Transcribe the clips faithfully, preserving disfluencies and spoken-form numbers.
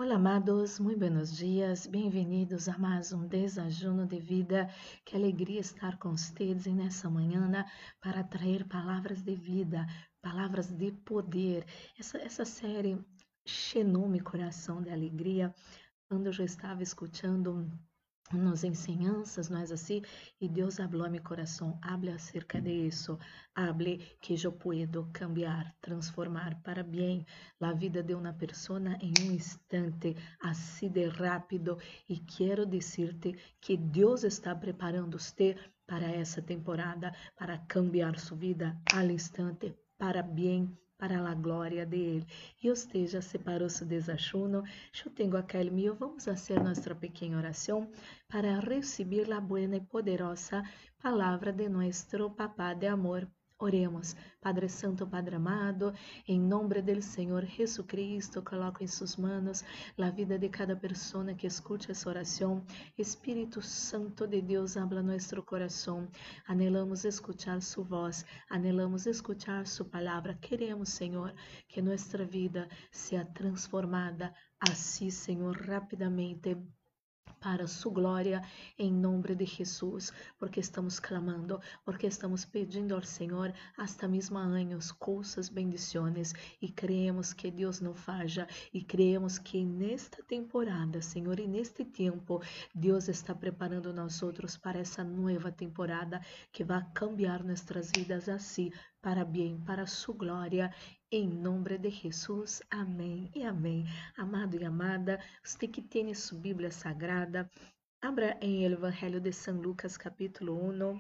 Olá, amados, muito buenos dias, bem-vindos a mais um desajuno de vida. Que alegria estar com vocês nessa manhã para trazer palavras de vida, palavras de poder. Essa, essa série chenou meu coração de alegria quando eu já estava escutando nas enseñanças, não é assim? E Deus falou a meu coração, hable acerca de isso, hable que eu puedo cambiar, transformar para bem a vida de uma pessoa em um instante, assim de rápido. E quero dizer-te que Deus está preparando você para essa temporada, para cambiar sua vida al instante, para bem, para a glória dele. E você já separou seu desajuno? Eu tenho aquele meu, vamos fazer nossa pequena oração para receber a buena e poderosa palavra de nosso Papá de amor. Oremos. Padre Santo, Padre amado, em nome do Senhor Jesucristo, coloco em suas manos a vida de cada pessoa que escute essa oração. Espírito Santo de Deus, habla nosso coração. Anelamos escuchar sua voz, anelamos escuchar sua palavra. Queremos, Senhor, que nossa vida seja transformada assim, Senhor, rapidamente, para sua glória, em nome de Jesus, porque estamos clamando, porque estamos pedindo ao Senhor hasta mesmo anos, coisas, bendições, e creemos que Deus não falha, e creemos que nesta temporada, Senhor, e neste tempo, Deus está preparando nós outros para essa nova temporada que vai cambiar nossas vidas assim, para bem, para sua glória, em nome de Jesus. Amém e amém. Amado e amada, você que tem sua Bíblia Sagrada, abra em el Evangelho de São Lucas, capítulo um.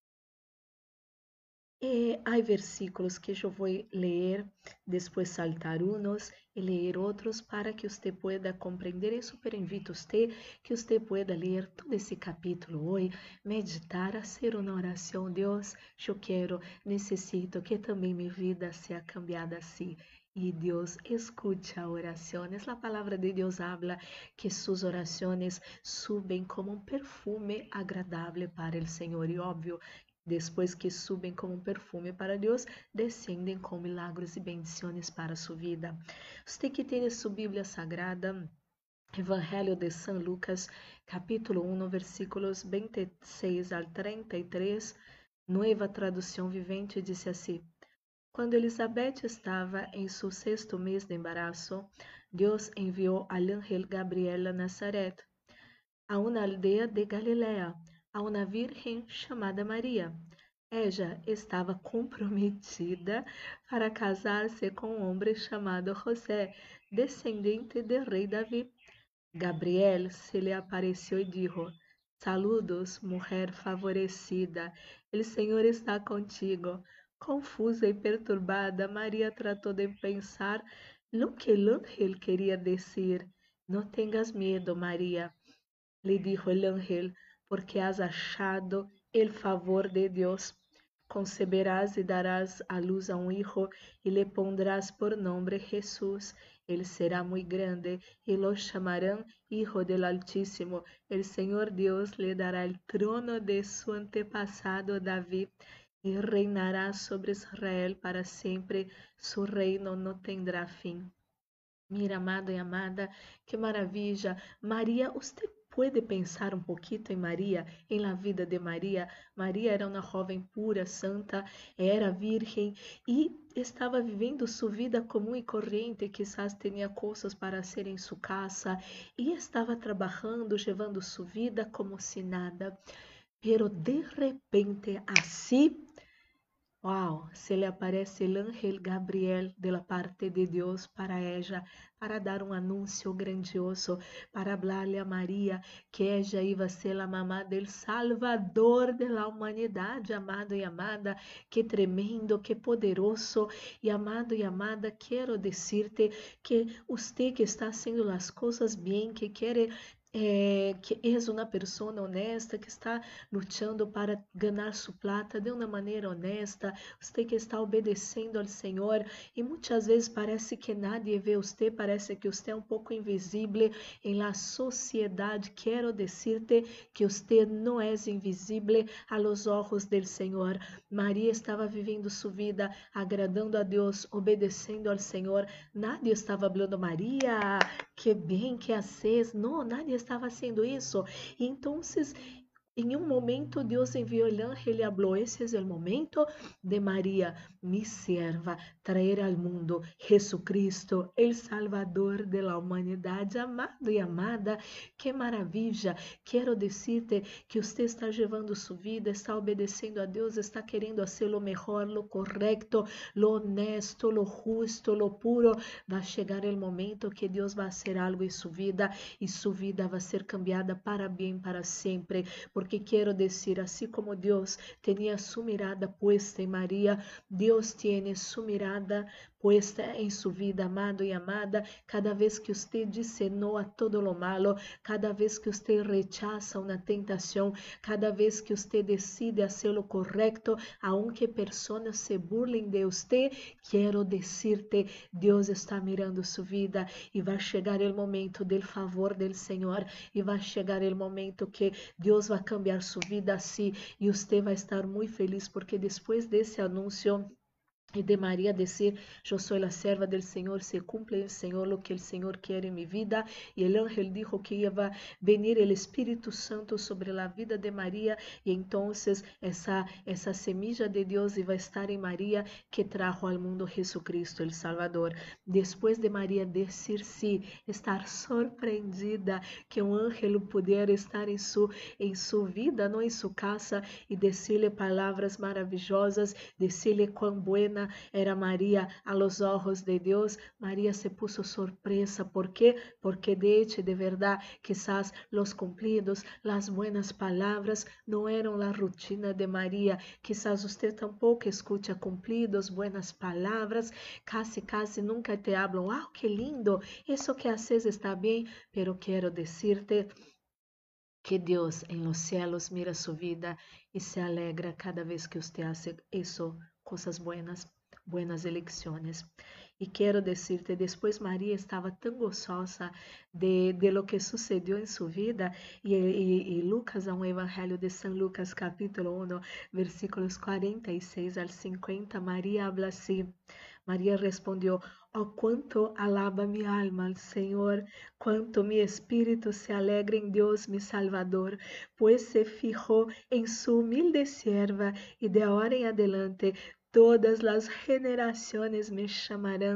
E há versículos que eu vou ler, depois saltar unos e ler outros para que você pueda compreender. Eu super invito você que você pueda ler todo esse capítulo hoje, meditar, fazer uma oração. Deus, eu quero, necessito que também minha vida seja cambiada assim. E Deus escute a oração. A palavra de Deus habla que suas orações subem como um perfume agradável para o Senhor. E óbvio, depois que subem como um perfume para Deus, descendem com milagres e bendições para sua vida. Você que tem sua Bíblia Sagrada, Evangelho de São Lucas, capítulo um, versículos vinte e seis al trinta e três, Nueva Tradução Vivente, diz assim: Quando Elizabeth estava em seu sexto mês de embarazo, Deus enviou al ángel Gabriel a Nazaret, a uma aldeia de Galilea, a uma virgem chamada Maria. Ella estava comprometida para casar-se com um homem chamado José, descendente do rei Davi. Gabriel se lhe apareceu e disse: Saludos, mulher favorecida, o Senhor está contigo. Confusa e perturbada, Maria tratou de pensar no que o ángel queria dizer. Não tenhas medo, Maria, le dijo el ángel, porque has achado el favor de Dios. Conceberás y darás a luz a un hijo y le pondrás por nombre Jesús. Él será muy grande y lo llamarán Hijo del Altísimo. El Señor Dios le dará el trono de su antepasado David y reinará sobre Israel para siempre. Su reino no tendrá fin. Mira, amado e amada, que maravilha. Maria, você pode pensar um pouquinho em Maria, em la vida de Maria. Maria era uma jovem pura, santa, era virgem e estava vivendo sua vida comum e corrente. Quizás tinha coisas para hacer em sua casa e estava trabalhando, levando sua vida como se nada. Pero de repente, assim, Wow, se le aparece el ángel Gabriel de la parte de Dios para ella, para dar un anuncio grandioso, para hablarle a María que ella iba a ser la mamá del Salvador de la humanidad, amado y amada. Qué tremendo, qué poderoso. Y amado y amada, quiero decirte que usted que está haciendo las cosas bien, que quiere é, que és uma pessoa honesta, que está lutando para ganhar sua plata de uma maneira honesta, você que está obedecendo ao Senhor e muitas vezes parece que nadie vê você, parece que você é um pouco invisível em la sociedade. Quero dizer-te que você não é invisível a los ojos del Senhor. Maria estava vivendo sua vida agradando a Deus, obedecendo ao Senhor. Nadie estava falando, Maria, que bem que haces. No, nadie estaba haciendo eso. Y entonces, en un momento, Dios envió el ángel y habló: ese es el momento de María, mi sierva, traer al mundo Jesucristo, el Salvador de la humanidad. Amado y amada, qué maravilla. Quiero decirte que usted está llevando su vida, está obedeciendo a Dios, está queriendo hacer lo mejor, lo correcto, lo honesto, lo justo, lo puro. Va a llegar el momento que Dios va a hacer algo en su vida y su vida va a ser cambiada para bien, para siempre. Porque quiero decir, así como Dios tenía su mirada puesta en María, Dios tiene su mirada puesta en su vida, amado y amada. Cada vez que usted dice no a todo lo malo, cada vez que usted rechaza una tentación, cada vez que usted decide hacer lo correcto, aunque personas se burlen de usted, quiero decirte, Dios está mirando su vida y va a llegar el momento del favor del Señor y va a llegar el momento que Dios va a cambiar su vida así y usted va a estar muy feliz porque después de ese anuncio y de María decir: yo soy la serva del Señor, se cumple el Señor lo que el Señor quiere en mi vida. Y el ángel dijo que iba a venir el Espíritu Santo sobre la vida de María y entonces esa, esa semilla de Dios iba a estar en María, que trajo al mundo Jesucristo, el Salvador. Después de María decir sí, estar sorprendida que un ángel pudiera estar en su, en su vida, no en su casa, y decirle palabras maravillosas, decirle cuán buena era María a los ojos de Dios. María se puso sorpresa. ¿Por qué? Porque de hecho, de verdad, quizás los cumplidos, las buenas palabras no eran la rutina de María. Quizás usted tampoco escucha cumplidos, buenas palabras, casi, casi nunca te hablan: wow, qué lindo, eso que haces está bien. Pero quiero decirte que Dios en los cielos mira su vida y se alegra cada vez que usted hace eso, cosas buenas, buenas elecciones. Y quiero decirte, después María estaba tan gozosa de, de lo que sucedió en su vida, y, y, y Lucas, a un evangelio de San Lucas capítulo uno, versículos cuarenta y seis al cincuenta, María habla así. María respondió: oh, cuánto alaba mi alma al Señor, cuánto mi espíritu se alegra en Dios mi Salvador, pues se fijó en su humilde sierva, y de ahora en adelante todas las generaciones me llamarán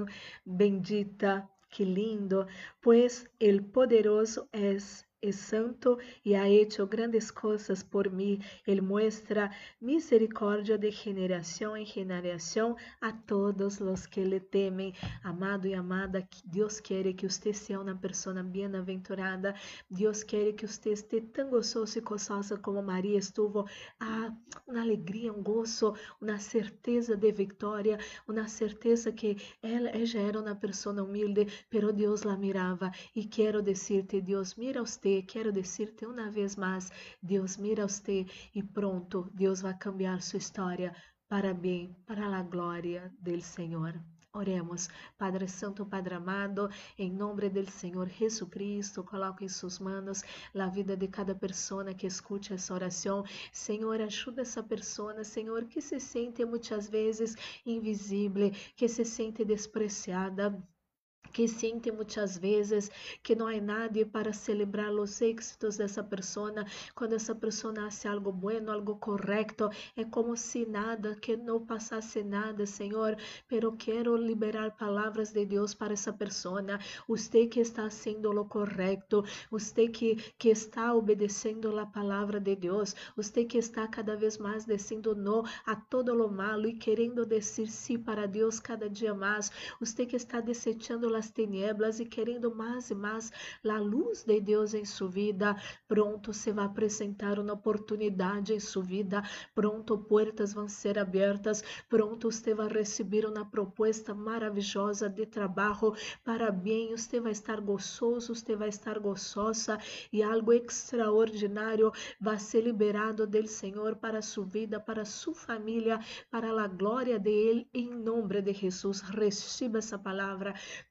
bendita. Qué lindo, pues el poderoso es, es santo y ha hecho grandes cosas por mí. Él muestra misericordia de generación en generación a todos los que le temen. Amado y amada, Dios quiere que usted sea una persona bienaventurada. Dios quiere que usted esté tan gozoso y gozosa como María estuvo. Ah, una alegría, un gozo, una certeza de victoria, una certeza que ela, ella era una persona humilde, pero Dios la miraba. Y quiero decirte, Dios mira a usted, quiero decirte una vez más, Dios mira a usted y pronto Dios va a cambiar su historia para bien, para la gloria del Señor. Oremos. Padre Santo, Padre amado, em nome do Senhor Jesucristo, coloco em suas manos a vida de cada pessoa que escute essa oração. Senhor, ajuda essa pessoa, Senhor, que se sente muitas vezes invisível, que se sente despreciada, que sente muitas vezes que não há nadie para celebrar os êxitos dessa pessoa. Quando essa pessoa hace algo bueno, algo correto, é como se nada, que não passasse nada, Senhor. Pero quero liberar palavras de Deus para essa pessoa. Você que está haciendo lo correto, você que, que está obedecendo a palavra de Deus, você que está cada vez mais dizendo não a todo lo malo e querendo dizer sim para Deus cada dia mais, você que está desechando as tinieblas e querendo mais e mais a luz de Deus em sua vida, pronto se vai apresentar uma oportunidade em sua vida, pronto portas vão ser abertas, pronto você vai receber uma proposta maravilhosa de trabalho para bem, você vai estar gozoso, você vai estar gozosa e algo extraordinário vai ser liberado do Senhor para sua vida, para sua família, para a glória de Ele, em nome de Jesus. Receba essa palavra.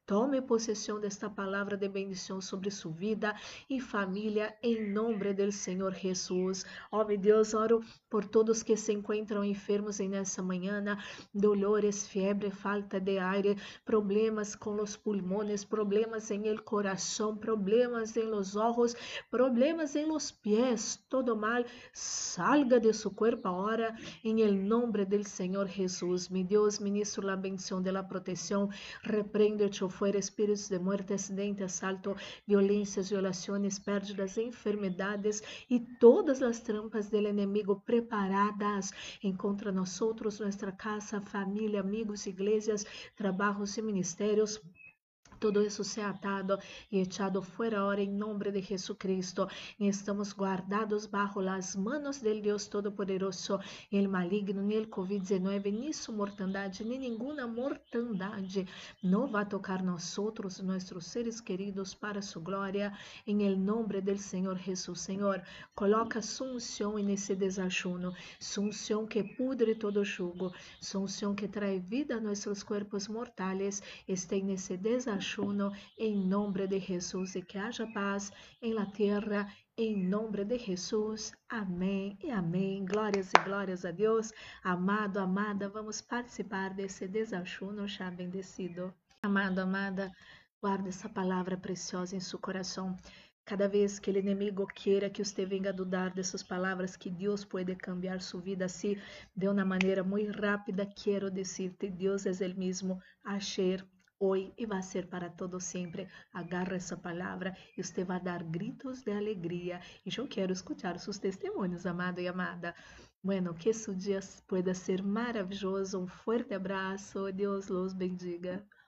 Tome possessão desta palavra de bendição sobre sua vida e família, em nome do Senhor Jesus. Ó, meu Deus, oro por todos que se encontram enfermos nessa manhã, dolores, febre, falta de aire, problemas com os pulmões, problemas em el coração, problemas em los ojos, problemas em los pies, todo mal, salga de su cuerpo ahora, em el nombre del Senhor Jesus. Mi Deus, ministro la bendición de la protección, repreendo e echo fuera espíritos de muerte, acidente, asalto, violências, violações, pérdidas, enfermedades e todas as trampas del enemigo preparadas em contra nós outros, nossa casa, família, amigos, igrejas, trabalhos e ministérios. Todo isso sea atado e echado fuera ahora em nome de Jesucristo. E estamos guardados bajo las manos del Dios Todopoderoso. El maligno, nem el covid dezenove, nem sua mortandade, nem nenhuma mortandade não vai tocar nós outros, nossos seres queridos, para sua glória. Em el nome del Senhor Jesus. Senhor, coloca sua unção nesse desajuno, sua unção que pudre todo jugo, sua unção que trae vida a nossos corpos mortais, este nesse desajuno. Em nome de Jesus, e que haja paz em la terra, em nome de Jesus. Amém e amém. Glórias e glórias a Deus. Amado, amada, vamos participar desse desajuno já bendecido. Amado, amada, guarde essa palavra preciosa em seu coração. Cada vez que o inimigo queira que você venha dudar dessas palavras, que Deus pode cambiar sua vida assim, de uma maneira muito rápida, quero dizer-te, Deus é o mesmo ayer, hoy y va a ser para todo siempre. Agarra esa palabra y usted va a dar gritos de alegría. Y yo quiero escuchar sus testimonios, amado y amada. Bueno, que su día pueda ser maravilloso. Un fuerte abrazo. Dios los bendiga.